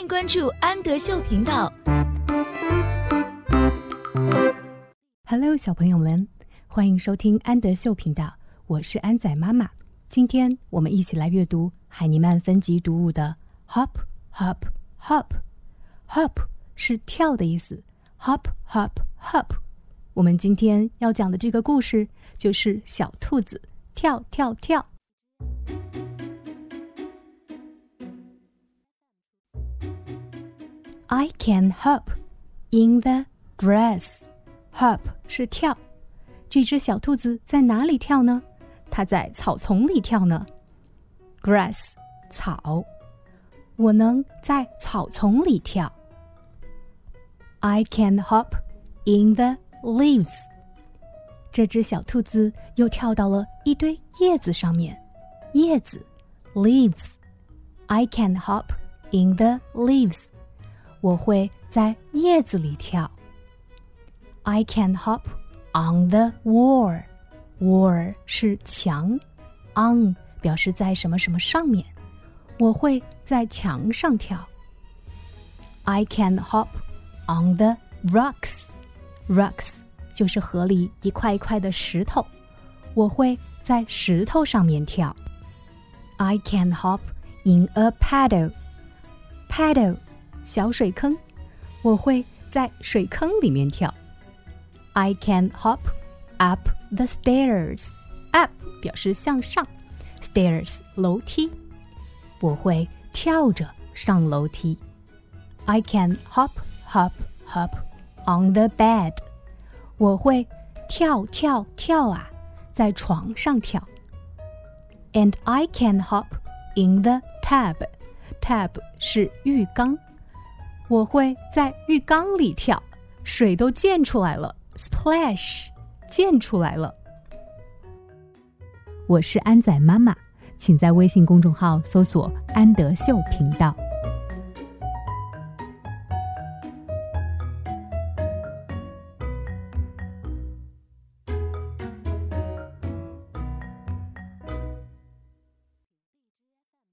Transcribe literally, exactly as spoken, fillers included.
关注安德秀频道。 Hello， 小朋友们，欢迎收听安德秀频道，我是安仔妈妈。今天我们一起来阅读海尼曼分级读物的 Hop Hop Hop。Hop 是跳的意思 ，Hop Hop Hop。我们今天要讲的这个故事就是小兔子跳跳跳。I can hop in the grass.Hop 是跳，这只小兔子在哪里跳呢？它在草丛里跳呢。Grass 草，我能在草丛里跳。I can hop in the leaves。这只小兔子又跳到了一堆叶子上面。叶子 leaves。I can hop in the leaves。我会在叶子里跳。I can hop on the wall. Wall 是墙 on 表示在什么什么上面，我会在墙上跳。I can hop on the rocks. Rocks 就是河里一块一块的石头，我会在石头上面跳。I can hop in a puddle. Puddle 小水坑，我会在水坑里面跳。I can hop up the stairs. Up 表示向上 Stairs 楼梯，我会跳着上楼梯。I can hop, hop, hop on the bed. 我会跳跳跳啊，在床上跳。And I can hop in the tub. Tub 是浴缸，我会在浴缸里跳，水都溅出来了Splash 溅出来了。我是安仔妈妈，请在微信公众号搜索安德秀频道。